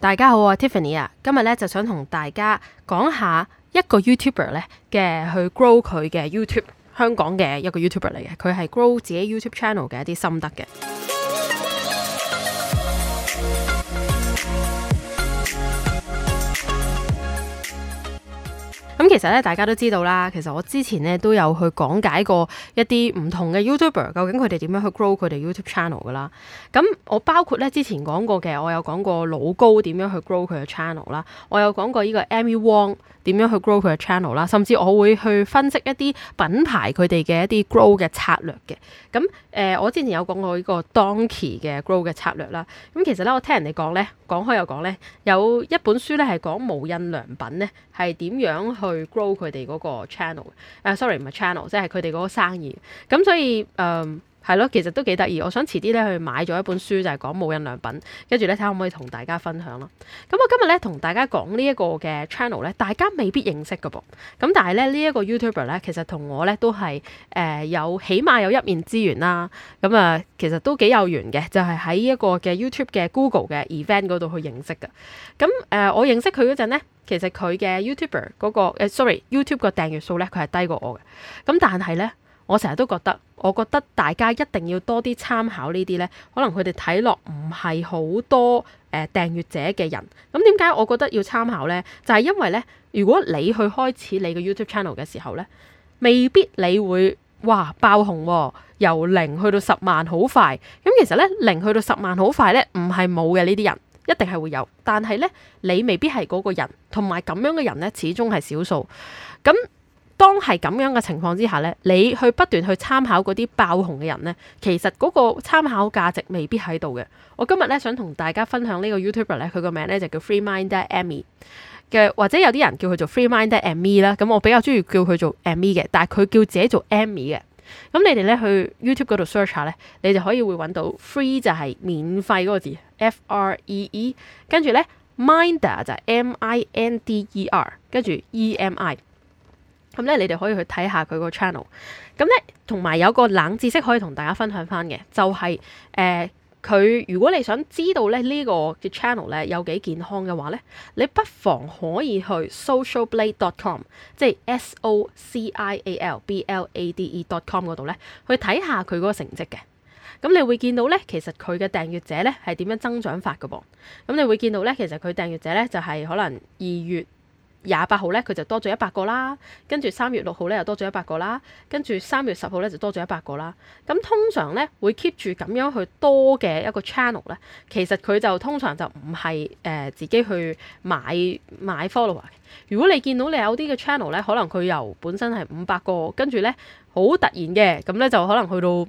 大家好，我係 Tiffany 啊，今日咧就想同大家講下一個 YouTuber 咧嘅去 grow 佢嘅 YouTube， 香港嘅一個 YouTuber 嚟嘅，佢係 grow 自己 YouTube channel 嘅一啲心得嘅。咁其實咧，大家都知道啦。其實我之前咧都有去講解過一啲唔同嘅 YouTuber， 究竟佢哋點樣去 grow 佢哋 YouTube channel 噶啦。咁我包括咧之前講過嘅，我有講過老高點樣去 grow 佢嘅 channel 啦，我有講過呢個 Amy Wong 點樣去 grow 佢嘅 channel 啦，甚至我會去分析一啲品牌佢哋嘅一啲 grow 嘅策略嘅。咁我之前有講過呢個 Donkey 嘅 grow 嘅策略啦。咁其實咧，我聽人哋講咧，講開又講咧，有一本書咧係講無印良品咧係點樣去 grow 佢哋嗰個 channel，sorry 唔係 channel， 即係佢哋嗰個生意。咁所以係咯，其實都幾得意。我想遲啲咧去買咗一本書，就係講無印良品，跟住咧睇下可唔可以同大家分享咯。咁我今日咧同大家講呢一個嘅 channel 咧，大家未必認識㗎噃。咁但係咧呢一個 YouTuber 咧，其實同我咧都係有起碼有一面之緣啦。咁其實都幾有緣嘅，就係喺一個嘅 YouTube 嘅 Google 嘅 event 嗰度去認識嘅。咁我認識佢嗰陣咧，其實佢嘅 YouTuber 嗰個YouTube 個訂閱數咧，佢係低過我嘅。咁但係咧，我成日都覺得大家一定要多啲參考呢啲咧，可能佢哋睇落唔係好多訂閱者嘅人。咁點解我覺得要參考咧？就係因為咧，如果你去開始你嘅 YouTube channel 嘅時候咧，未必你會哇爆紅喎，由0去到10萬好快。咁其實咧0去到10萬好快咧，唔係冇嘅，呢啲人一定係會有，但係咧你未必係嗰個人，同埋咁樣嘅人咧始終係少數。咁當係咁樣嘅情況之下咧，你去不斷去參考嗰啲爆紅嘅人咧，其實嗰個參考價值未必喺度嘅。我今日咧想同大家分享呢個 YouTuber 咧，佢個名咧就叫 Freeminder Amy 嘅，或者有啲人叫佢做 Freeminder Amy 啦。咁我比較中意叫佢做 Amy 嘅，但係佢叫自己做 Amy 嘅。咁你哋咧去 YouTube 嗰度 search 下咧，你就可以會揾到 free 就係免費嗰個字 FREE， 跟住咧 Minder 就係 MINDER， 跟住 EMI。咁咧，你哋可以去睇下佢個 channel。咁咧，同埋有個冷知識可以同大家分享翻嘅，就係佢如果你想知道咧呢個嘅 channel 咧有幾健康嘅話咧，你不妨可以去 socialblade.com， 即係 socialblade.com 嗰度咧去睇下佢嗰個成績嘅。咁你會見到咧，其實佢嘅訂閱者咧係點樣增長法㗎噃。咁你會見到咧，其實佢訂閱者咧就係可能2月28號咧，佢就多咗100個啦，跟住3月6號咧又多咗100個啦，跟住3月10號咧就多咗100個啦。咁通常咧會 keep 住咁樣去多嘅一個 channel 咧，其實佢就通常就唔係自己去買 follower。如果你見到你有啲嘅 channel 咧，可能佢由本身係500個，跟住咧好突然嘅，咁咧就可能去到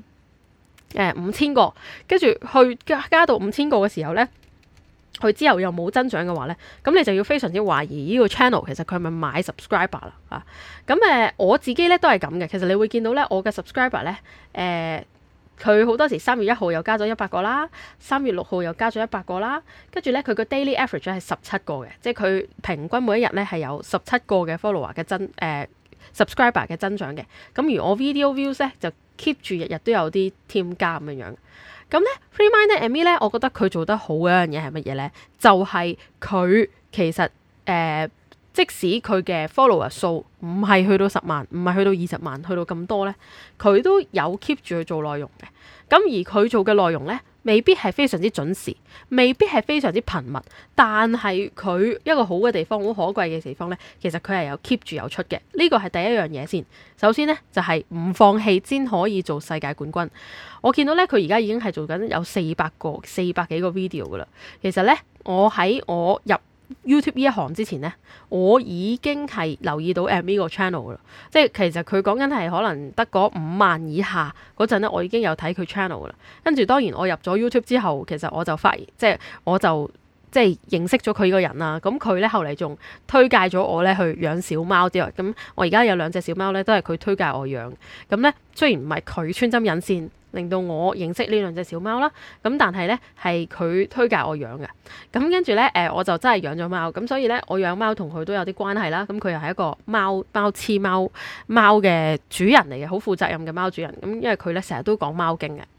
5000個，跟住去加到5000個嘅時候咧，佢之後又冇增長嘅話咧，咁你就要非常之懷疑呢個 channel 其實佢係咪買 subscriber 啦啊？咁我自己咧都係咁嘅。其實你會見到咧，我嘅 subscriber 咧佢好多時3月1號又加咗100個啦，3月6號又加咗100個啦，跟住咧佢個 daily average 係17個嘅，即係佢平均每一日咧係有17個嘅 follower 嘅subscriber 嘅增長嘅。咁而我 video views 咧就 keep 住日日都有啲添加咁樣樣。咁咧 Freeminder Amy 咧，我覺得佢做得好嘅一樣嘢係乜嘢咧？就係佢其實即使佢嘅 follower 數唔係去到10萬，唔係去到20萬，去到咁多咧，佢都有 keep 住去做內容嘅。咁而佢做嘅內容咧，未必係非常之準時，未必係非常之頻密，但係佢一個好嘅地方，好可貴嘅地方咧，其實佢係有 keep 住有出嘅。呢個係第一樣嘢先。首先咧就係唔放棄先可以做世界冠軍。我見到咧佢而家已經係做緊有400幾個 video 噶啦。其實咧我喺我入YouTube 呢一行之前咧，我已經係留意到 Amy 個 channel 噶啦，即係其實佢講緊係可能得嗰5萬以下嗰陣咧，我已經有睇佢 channel 噶啦。跟住當然我入咗 YouTube 之後，其實我就發現，我就認識咗佢個人啦。咁佢咧後嚟仲推介咗我咧去養小貓之外，咁我而家有2隻小貓咧，都係佢推介我養。咁咧雖然唔係佢穿針引線令到我認識呢2隻小貓啦，咁但係咧係佢推介我養嘅。咁跟住咧我就真係養咗貓，咁所以咧我養貓同佢都有啲關係啦。咁佢又係一個貓嘅主人嚟嘅，好負責任嘅貓主人。咁因為佢咧成日都講貓經嘅。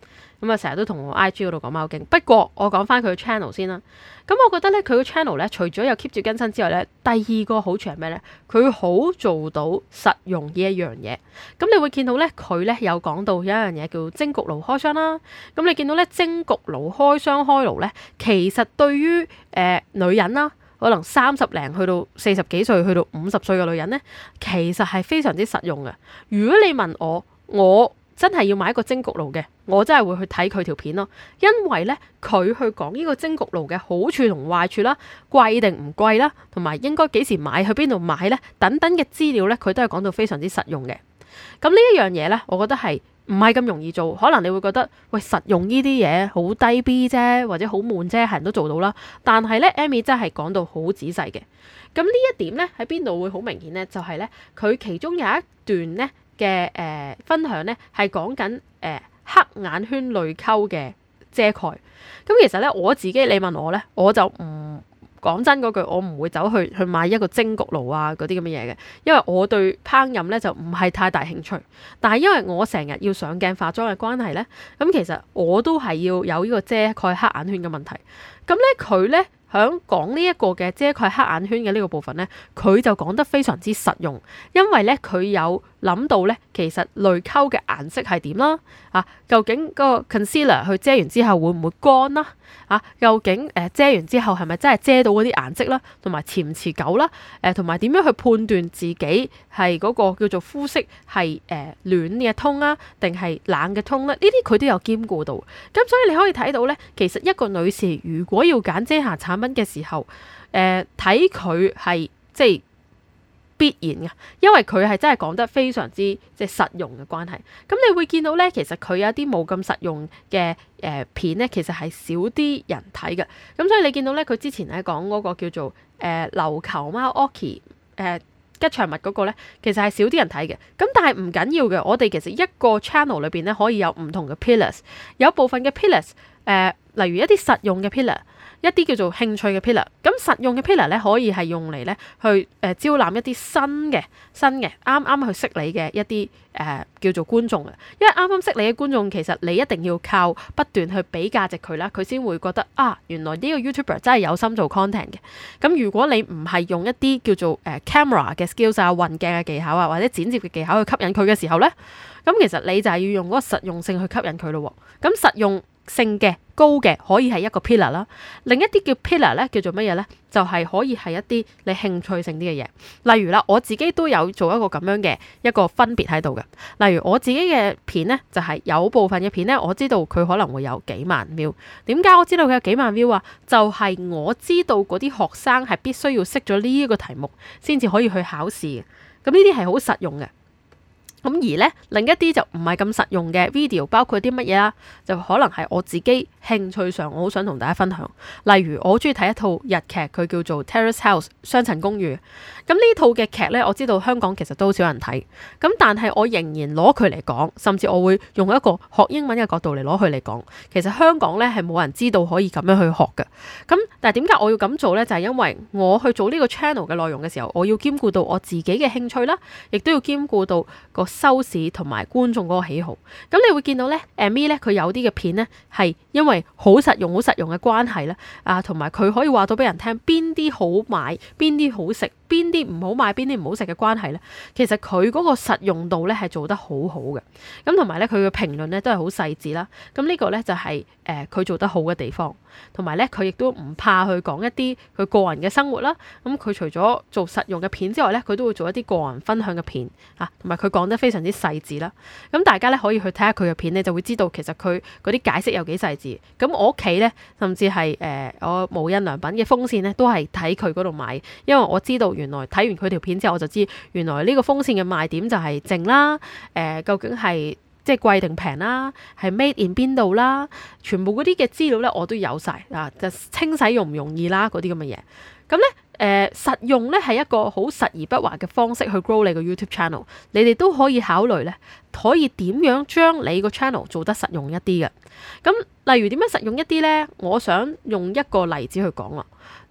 咁啊成日都同我 IG 嗰度講貓經。不過我講翻佢嘅 channel 先啦。咁我覺得咧佢個 channel 咧除咗有 keep 住更新之外咧，第二個好處係咩咧？佢好做到實用呢一樣嘢。咁你會見到咧佢咧有講到有一樣嘢叫蒸焗爐開箱啦。咁你見到咧蒸焗爐開箱開爐咧，其實對於女人啦，可能30零去到40幾歲去到50歲嘅女人咧，其實係非常之實用嘅。如果你問我真係要買一個蒸焗爐嘅，我真係會去睇佢條片咯，因為咧佢去講呢個蒸焗爐嘅好處同壞處啦，貴定唔貴啦，同埋應該幾時買，去邊度買咧，等等嘅資料咧，佢都係講到非常之實用嘅。咁呢一樣嘢咧，我覺得係唔係咁容易做，可能你會覺得喂，實用呢啲嘢好低 B 啫，或者好悶啫，係人都做到啦。但係咧 Amy 真係講到好仔細嘅。咁呢一點咧喺邊度會好明顯咧？就係咧佢其中有一段咧嘅分享咧係講緊黑眼圈淚溝嘅遮蓋。咁其實咧我自己你問我咧，我就唔講真嗰句，我唔會走去買一個蒸焗爐啊嗰啲咁嘅嘢嘅，因為我對烹飪咧就唔係太大興趣。但係因為我成日要上鏡化妝嘅關係咧，咁其實我都係要有呢個遮蓋黑眼圈嘅問題。咁咧佢咧響講呢一個嘅遮蓋黑眼圈嘅呢個部分咧，佢就講得非常之實用，因為咧佢有諗到咧，其實淚溝嘅顏色係點啦，究竟個 concealer 去遮完之後會唔會乾啦？究竟遮完之後係咪真係遮到嗰啲顏色啦？同埋持唔持久啦？同埋點樣去判斷自己係嗰個叫做膚色係暖嘅 tone 啊，定係冷嘅 tone 咧？呢啲佢都有兼顧到。咁所以你可以睇到咧，其實一個女士如果要揀遮瑕產品嘅時候，睇佢係即係必然嘅，因為佢係真係講得非常之即係實用嘅關係。咁你會見到咧，其實佢有一啲冇咁實用嘅片咧，其實係少啲人睇嘅。咁所以你見到咧，佢之前咧講嗰個叫做琉球貓 Oki 吉祥物嗰個咧，其實係少啲人睇嘅。咁但係唔緊要嘅，我哋其實一個 channel 裏邊咧可以有唔同嘅 pillars， 有部分嘅 pillars，例如一啲實用嘅 pillar， 一啲叫做興趣嘅 pillar。咁實用嘅 pillar 咧可以係用嚟咧去招攬一啲新嘅啱啱去識你嘅一啲叫做觀眾啊。因為啱啱識你嘅觀眾，其實你一定要靠不斷去俾價值佢啦，佢先會覺得原來呢個 YouTuber 真係有心做 content 嘅。咁如果你唔係用一啲叫做camera 嘅 skills 啊、運鏡嘅技巧啊，或者剪接嘅技巧去吸引佢嘅時候咧，咁其實你就係要用嗰個實用性去吸引佢咯。咁實用性嘅高嘅可以係一個 pillar 啦，另一啲叫 pillar 咧叫做乜嘢咧？就係可以係一啲你興趣性啲嘅嘢。例如啦，我自己都有做一個咁樣嘅一個分別喺度嘅。例如我自己嘅片咧，就係有部分嘅片咧，我知道佢可能會有幾萬 view。點解我知道佢有幾萬 view 啊？就係我知道嗰啲學生係必須要識咗呢一個題目先至可以去考試嘅。咁呢啲係好實用嘅。咁而咧另一啲就唔係咁實用嘅 video， 包括啲乜嘢啦？就可能係我自己興趣上，我好想同大家分享。例如我好中意睇一套日劇，佢叫做 Terrace House 雙層公寓。咁呢套嘅劇咧，我知道香港其實都好少人睇。咁但係我仍然攞佢嚟講，甚至我會用一個學英文嘅角度嚟攞佢嚟講。其實香港咧係冇人知道可以咁樣去學嘅。咁但係點解我要咁做咧？就係因為我去做呢個 channel 嘅內容嘅時候，我要兼顧到我自己嘅興趣啦，亦都要兼顧到個收視同埋觀眾嗰個喜好。咁你會見到咧，Amy 咧佢有啲嘅片咧係因為好實用嘅關係咧，同埋佢可以話到俾人聽邊啲好買，邊啲好食，邊啲唔好買，邊啲唔好食嘅關係咧。其實佢嗰個實用度咧係做得好好嘅。咁同埋咧佢嘅評論咧都係好細緻啦。咁呢個咧就係佢做得好嘅地方。同埋咧佢亦都唔怕去講一啲佢個人嘅生活啦。咁佢除咗做實用嘅片之外咧，佢都會做一啲個人分享嘅片同埋佢講得非常之細緻啦。咁大家咧可以去睇下佢嘅片咧，就會知道其實佢嗰啲解釋有幾細緻。咁我屋企咧，甚至係我無印良品嘅風扇咧，都係睇佢嗰度買，因為我知道原來睇完佢條片之後，我就知原來呢個風扇嘅賣點就係靜啦，究竟係即係貴定平啦，係 made in 邊度啦，全部嗰啲嘅資料咧我都有晒就清洗容唔容易啦嗰啲咁嘅嘢。咁咧實用咧係一個好實而不華嘅方式去 grow 你個 YouTube channel。你哋都可以考慮咧，可以點樣將你個 channel 做得實用一啲嘅。咁例如點樣實用一啲咧？我想用一個例子去講啦。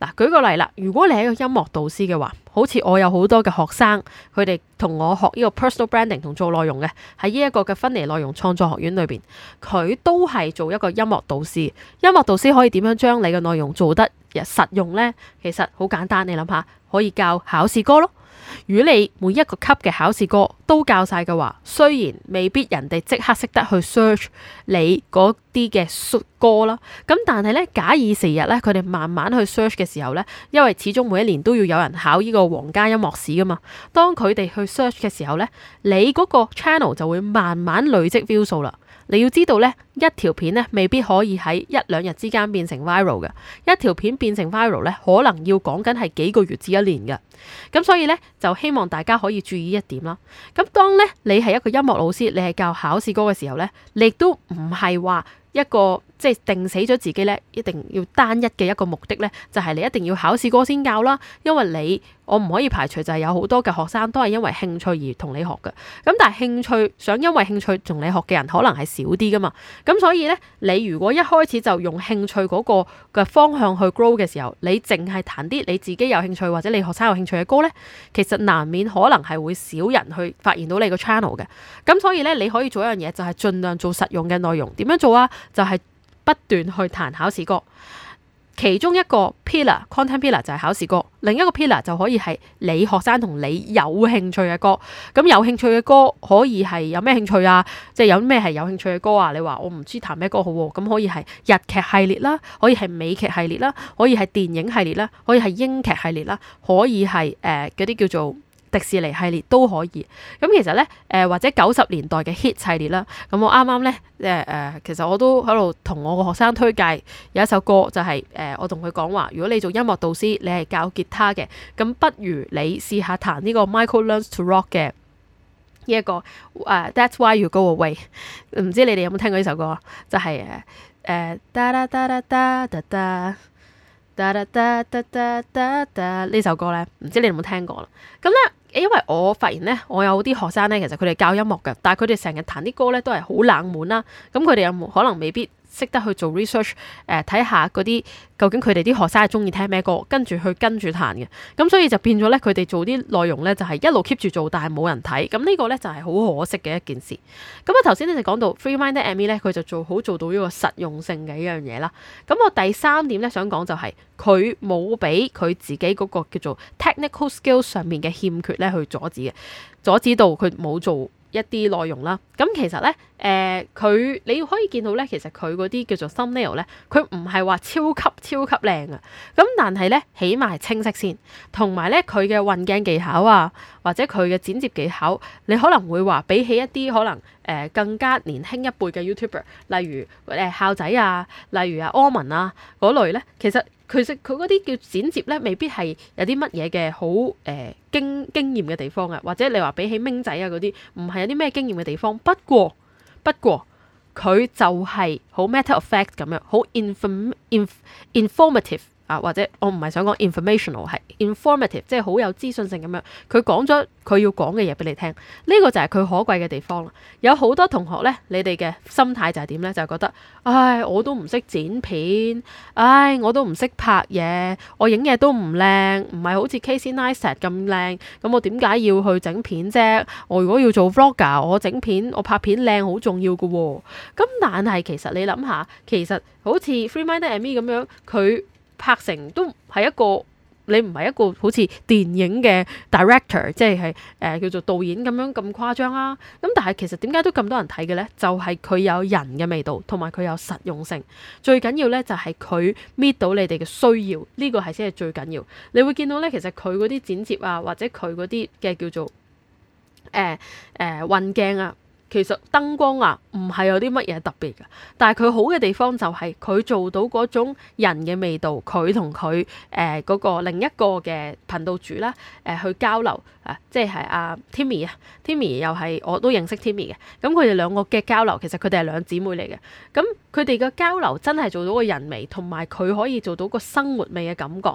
嗱，舉個例啦，如果你係一個音樂導師嘅話，好似我有好多嘅學生，佢哋同我學呢個 personal branding 同做內容嘅，喺呢一個嘅芬尼內容創作學院裏邊，佢都係做一個音樂導師。音樂導師可以點樣將你嘅內容做得實用呢？其實好簡單，你諗下，可以教考試歌咯。如果你每一個級嘅考試歌都教晒嘅話，雖然未必人哋即刻識得去 search 你嗰啲嘅歌啦，咁但係咧，假以時日咧，佢哋慢慢去 search 嘅時候咧，因為始終每一年都要有人考呢個皇家音樂史噶嘛，當佢哋去 search 嘅時候咧，你嗰個 channel 就會慢慢累積 view 數啦。你要知道咧，一條片咧未必可以喺一兩日之間變成 viral 嘅，一條片變成 viral 咧，可能要講緊係幾個月至一年嘅。咁所以咧，就希望大家可以注意一點啦。咁當咧你係一個音樂老師，你係教考試歌嘅時候咧，你亦都唔係話一個即係定死咗自己咧，一定要單一嘅一個目的咧，就係你一定要考試歌先教啦。因為我唔可以排除就係有好多嘅學生都係因為興趣而同你學嘅。咁但係興趣想因為興趣同你學嘅人可能係少啲噶嘛。咁所以咧，你如果一開始就用興趣嗰個嘅方向去 grow 嘅時候，你淨係彈啲你自己有興趣或者你學生有興趣嘅歌咧，其實難免可能係會少人去發現到你個 channel 嘅。咁所以咧，你可以做一樣嘢，就係盡量做實用嘅內容。點樣做啊？就係不斷去彈考試歌。其中一個 content pillar 就係考試歌，另一個 pillar 就可以係你學生同你有興趣嘅歌。咁有興趣嘅歌可以係有咩興趣啊？即係有咩係有興趣嘅歌啊？你話我唔知彈咩歌好喎，咁可以係日劇系列啦，可以係美劇系列啦，可以係電影系列啦，可以係英劇系列啦，可以係嗰啲叫做迪士尼系列都可以。咁其實咧，或者90年代嘅 hit 系列啦。咁我啱啱咧，其實我都喺度同我個學生推介有一首歌，就係我同佢講話，如果你做音樂導師，你係教吉他嘅，咁不如你試下彈呢個 Michael Learns to Rock 嘅呢一個That's Why You Go Away。唔知你哋有冇聽過呢首歌？就係噠噠噠噠噠噠噠。呢首歌咧，唔知你有冇聽過啦？咁咧，因為我發現咧，我有啲學生咧，其實佢哋教音樂嘅，但係佢哋成日彈啲歌咧都係好冷門啦。咁佢哋有冇可能未必識得去做 research，睇下嗰啲究竟佢哋啲學生係中意聽咩歌，跟住彈嘅。咁所以就變咗咧，佢哋做啲內容咧就係一路 keep 住做，但係冇人睇。咁呢個咧就係好可惜嘅一件事。咁頭先咧就講到 Free-Minded Amy 咧，佢就做到呢個實用性嘅一樣嘢啦。咁我第三點咧想講就係佢冇俾佢自己嗰個叫做 technical skills 上面嘅欠缺咧去阻止到佢冇做一啲內容啦。咁其實咧，你可以見到咧，其實佢嗰啲叫做 thumbnail 咧，佢唔係話超級靚啊。咁但係咧，起碼係清晰先，同埋咧佢嘅運鏡技巧啊，或者佢嘅剪接技巧，你可能會話比起一啲可能更加年輕一輩嘅 YouTuber，例如孝仔啊，例如柯文啊嗰類咧，其實佢嗰啲叫剪接咧，未必係有啲乜嘢嘅好經驗嘅地方啊，或者你話比起明仔啊嗰啲，唔係有啲咩經驗嘅地方。不過佢就係好 matter of fact 咁樣，好 informative 啊，或者我唔係想講 informational， 係 informative， 即係好有資訊性咁樣。佢講咗佢要講嘅嘢俾你聽，呢個就係佢可貴嘅地方啦。有好多同學咧，你哋嘅心態就係點咧？就係覺得，唉，我都唔識剪片，唉，我都唔識拍嘢，我影嘢都唔靚，唔係好似 Casey Neistat 咁靚，咁我點解要去整片啫？我如果要做 vlogger，我整片，我拍片靚好重要㗎喎。咁但係其實你諗下，其實好似 Free-Minded Amy 咁樣，佢拍成都係一個，你唔係一個好似電影嘅 director，即係叫做導演咁樣咁誇張啊。咁但係其實點解都咁多人睇嘅咧？就係佢有人嘅味道，同埋佢有實用性。最緊要咧就係佢 meet 到你哋嘅需要，呢個係先係最緊要。你會見到咧，其實佢嗰啲剪接啊，或者佢嗰啲嘅叫做運鏡啊，其實燈光啊，唔係有啲乜嘢特別㗎，但係佢好嘅地方就係佢做到嗰種人嘅味道，佢同佢嗰個另一個嘅頻道主啦，去交流啊，即係阿 Timmy 啊，Timmy 又係我都認識 Timmy 嘅，咁佢哋兩個嘅交流，其實佢哋係兩姊妹嚟嘅，咁佢哋嘅交流真係做到個人味，同埋佢可以做到個生活味嘅感覺。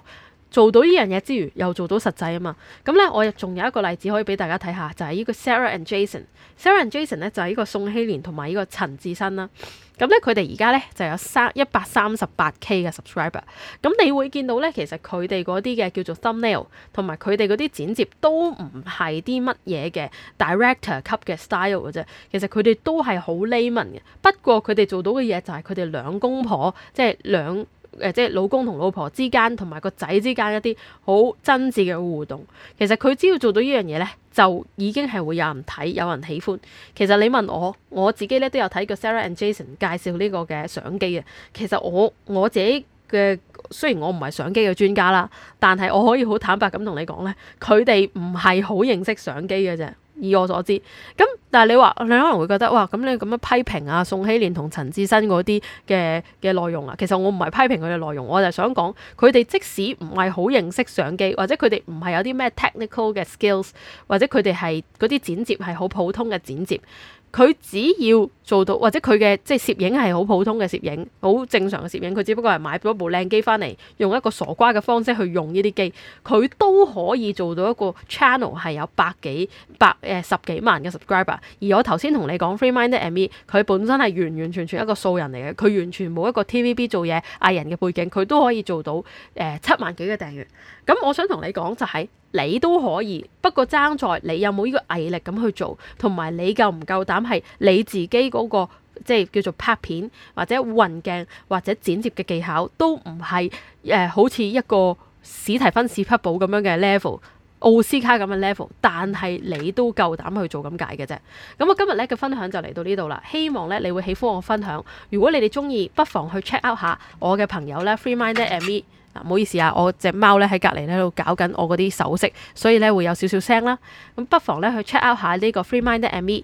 做到呢樣嘢之餘，又做到實際啊嘛。咁咧，我仲有一個例子可以俾大家睇下，就係呢個 Sarah and Jason。Sarah and Jason 咧就係呢個宋希蓮同埋呢個陳志新啦。咁咧，佢哋而家咧就有138K 嘅 subscriber。咁你會見到咧，其實佢哋嗰啲嘅叫做 thumbnail 同埋佢哋嗰啲剪接都唔係啲乜嘢嘅 director 級嘅 style 嘅啫。其實佢哋都係好 layman 嘅。不過佢哋做到嘅嘢就係佢哋兩公婆，即係老公同老婆之間同埋個仔之間一啲好真摯嘅互動。其實佢只要做到呢樣嘢咧，就已經係會有人睇，有人喜歡。其實你問我自己咧都有睇過 Sarah and Jason 介紹呢個嘅相機嘅。其實我自己嘅，雖然我唔係相機嘅專家啦，但係我可以好坦白咁同你講咧，佢哋唔係好認識相機嘅啫。以我所知，咁但係你可能會覺得哇，咁你咁樣批評啊宋希蓮同陳志新嗰啲嘅內容啊，其實我唔係批評佢嘅內容，我就係想講佢哋即使唔係好認識相機，或者佢哋唔係有啲咩 technical 嘅 skills， 或者佢哋係嗰啲剪接係好普通嘅剪接。佢只要做到，或者佢嘅即係攝影係好普通嘅攝影，好正常嘅攝影，佢只不過係買咗部靚機翻嚟，用一個傻瓜嘅方式去用呢啲機，佢都可以做到一個 channel 係有十幾萬嘅 subscriber。而我頭先同你講 Free-minded Amy， 佢本身係完完全全一個素人嚟嘅，佢完全冇一個 TVB 做嘢藝人嘅背景，佢都可以做到7萬幾嘅訂閱。咁我想同你講就係，你都可以，不過爭在你有冇呢個毅力咁去做，同埋你夠唔夠膽係你自己嗰個即係叫做拍片或者運鏡或者剪接嘅技巧都唔係好似一個史提芬史匹堡咁樣嘅 level， 奧斯卡咁嘅 level， 但係你都夠膽去做咁解嘅啫。咁我今日咧嘅分享就嚟到呢度啦，希望咧你會喜歡我分享。如果你哋中意，不妨去 check out 下我嘅朋友咧 Free-minded Amy。唔好意思啊，我隻貓咧喺隔離喺度搞緊我嗰啲首飾，所以咧會有少少聲啦。咁不妨咧去 check out 下呢個 Free-minded Amy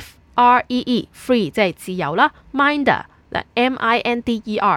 FREE Free 即係自由啦 ，Minder MINDER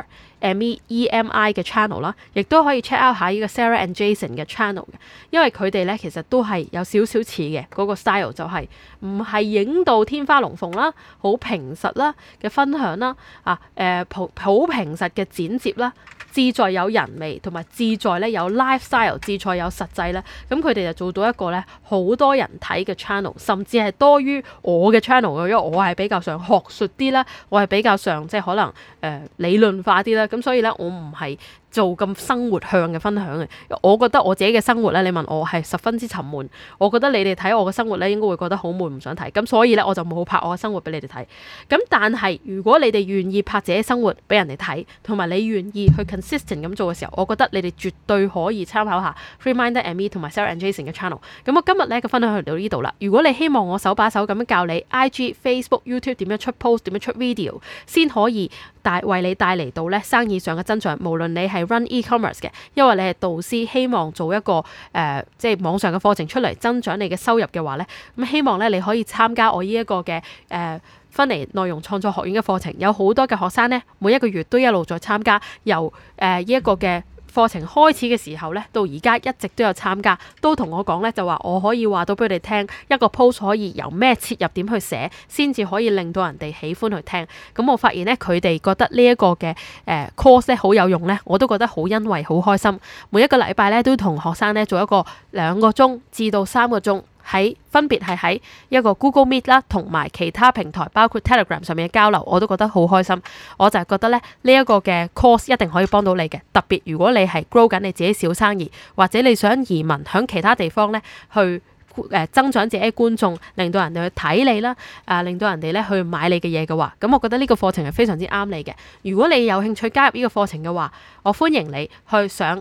MEMI 嘅 channel 啦，亦都可以 check out 下呢個 Sarah and Jason 嘅 channel 嘅，因為佢哋咧其實都係有少少似嘅嗰個 style， 就係唔係影到天花龍鳳啦，好平實啦嘅分享啦，好平實嘅剪接啦。志在有人味，同埋志在咧有 lifestyle， 志在有實際咧，咁佢哋就做到一個咧好多人睇嘅 channel， 甚至係多於我嘅 channel 嘅，因為我係比較上學術啲啦，我係比較上即係可能理論化啲啦，咁所以咧我唔係做咁生活向嘅分享嘅。我覺得我自己嘅生活咧，你問我係十分之沉悶，我覺得你哋睇我嘅生活咧應該會覺得好悶，唔想睇，咁所以咧我就冇拍我嘅生活俾你哋睇。咁但係如果你哋願意拍自己生活俾人哋睇，同埋你願意去 consistent 咁做嘅時候，我覺得你哋絕對可以參考下 Free-minded Amy 同埋 Sarah and Jason 嘅 channel。咁我今日咧嘅分享就到呢度啦。如果你希望我手把手咁樣教你 IG、Facebook、YouTube 點樣出 post、點樣出 video， 先可以為你帶嚟到咧生意上嘅增長，無論你係 run e-commerce 嘅，因為你係導師，希望做一個即係網上嘅課程出嚟增長你嘅收入嘅話咧，咁希望咧你可以參加我呢一個嘅芬尼內容創作學院嘅課程，有好多嘅學生咧，每一個月都一路在參加，由呢一個嘅課程開始嘅時候咧，到而家一直都有參加，都同我講咧，就話我可以話到俾佢哋聽，一個 post 可以由咩切入點去寫，先至可以令到人哋喜歡去聽。咁我發現咧，佢哋覺得呢一個嘅course 咧好有用咧，我都覺得好欣慰、好開心。每一個禮拜咧都同學生咧做一個2個鐘至到3個鐘。分別係喺一個 Google Meet 啦，同埋其他平台，包括 Telegram 上面嘅交流，我都覺得好開心。我就係覺得咧，呢一個嘅 course 一定可以幫到你嘅。特別如果你係 grow 緊你自己小生意，或者你想移民響其他地方咧，去增長自己嘅觀眾，令到人哋去睇你啦，令到人哋咧去買你嘅嘢嘅話，咁我覺得呢個課程係非常之啱你嘅。如果你有興趣加入呢個課程嘅話，我歡迎你去上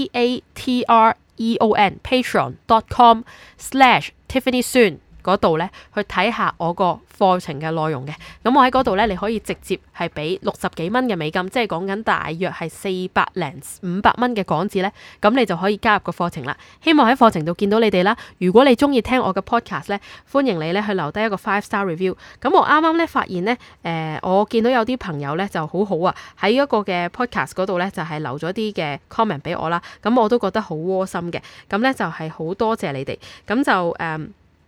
patreon.com/Tiffany Soon 嗰度咧去睇下我個課程嘅內容嘅。咁我喺嗰度咧，你可以直接係俾60幾蚊嘅美金，即係講緊大約係400零500蚊嘅港紙咧，咁你就可以加入個課程啦。希望喺課程度見到你哋啦。如果你中意聽我嘅 podcast 咧，歡迎你咧去留低一個 5-star review。咁我啱啱咧發現咧，我見到有啲朋友咧就好好啊，喺一個嘅 podcast 嗰度咧就係留咗啲嘅 comment 俾我啦。咁我都覺得好窩心嘅。咁咧就係好多謝你哋。咁就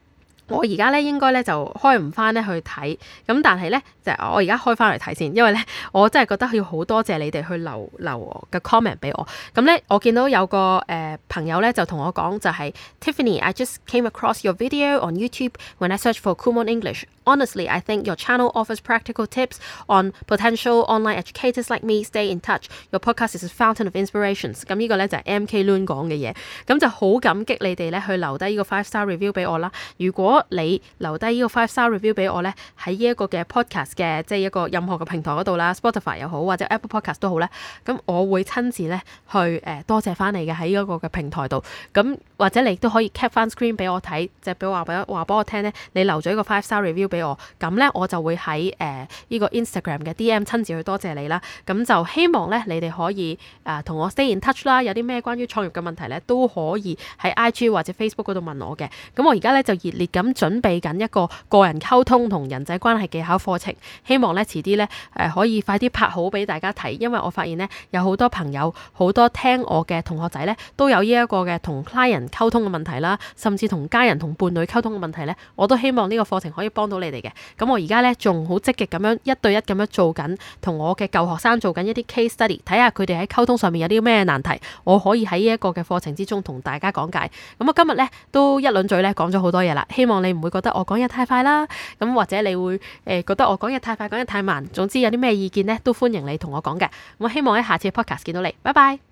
我而家咧應該咧就開唔翻咧去睇，咁但係咧就我而家開翻嚟睇先，因為咧我真係覺得要好多謝你哋去留嘅 comment 俾我。咁咧我見到有個朋友咧就同我講就係 Tiffany，I just came across your video on YouTube when I searched for Kumon English. Honestly, I think your channel offers practical tips on potential online educators like me. Stay in touch. Your podcast is a fountain of inspirations. 咁呢個咧就係 MK Loon 講嘅嘢，咁就好感激你哋咧去留低呢個 5-star review 俾我啦。如果你留低呢個 5-star review 俾我咧，喺呢一個嘅 podcast 嘅即係一個任何嘅平台嗰度啦 ，Spotify 又好或者 Apple Podcast 都好咧，咁我會親自咧去多謝翻你嘅喺呢一個嘅平台度。咁或者你都可以 cap 翻 screen 俾我睇，即係俾我聽咧，你留咗一個 5-star review 俾我，咁咧我就會喺呢個 Instagram 嘅 DM 親自去多謝你啦。咁就希望咧你哋可以同我 stay in touch 啦。有啲咩關於創業嘅問題咧，都可以喺 IG 或者 Facebook 嗰度問我嘅。咁我而家咧就熱烈咁準備緊一個個人溝通同人際關係技巧課程，希望咧遲啲咧可以快啲拍好俾大家睇，因為我發現咧有好多朋友好多聽我嘅同學仔咧都有呢一個嘅同 client 溝通嘅問題啦，甚至同家人同伴侶溝通嘅問題咧，我都希望呢個課程可以幫到你哋嘅。咁我而家咧仲好積極咁樣一對一咁樣做緊，同我嘅舊學生做緊一啲 case study， 睇下佢哋喺溝通上面有啲咩難題，我可以喺呢一個嘅課程之中同大家講解。咁我今日咧都一輪嘴咧講咗好多嘢啦，希望你唔會覺得我講嘢太快啦，咁或者你會覺得我講嘢太快講嘢太慢，總之有啲咩意見咧都歡迎你同我講嘅。我希望喺下次 podcast 見到你，拜拜。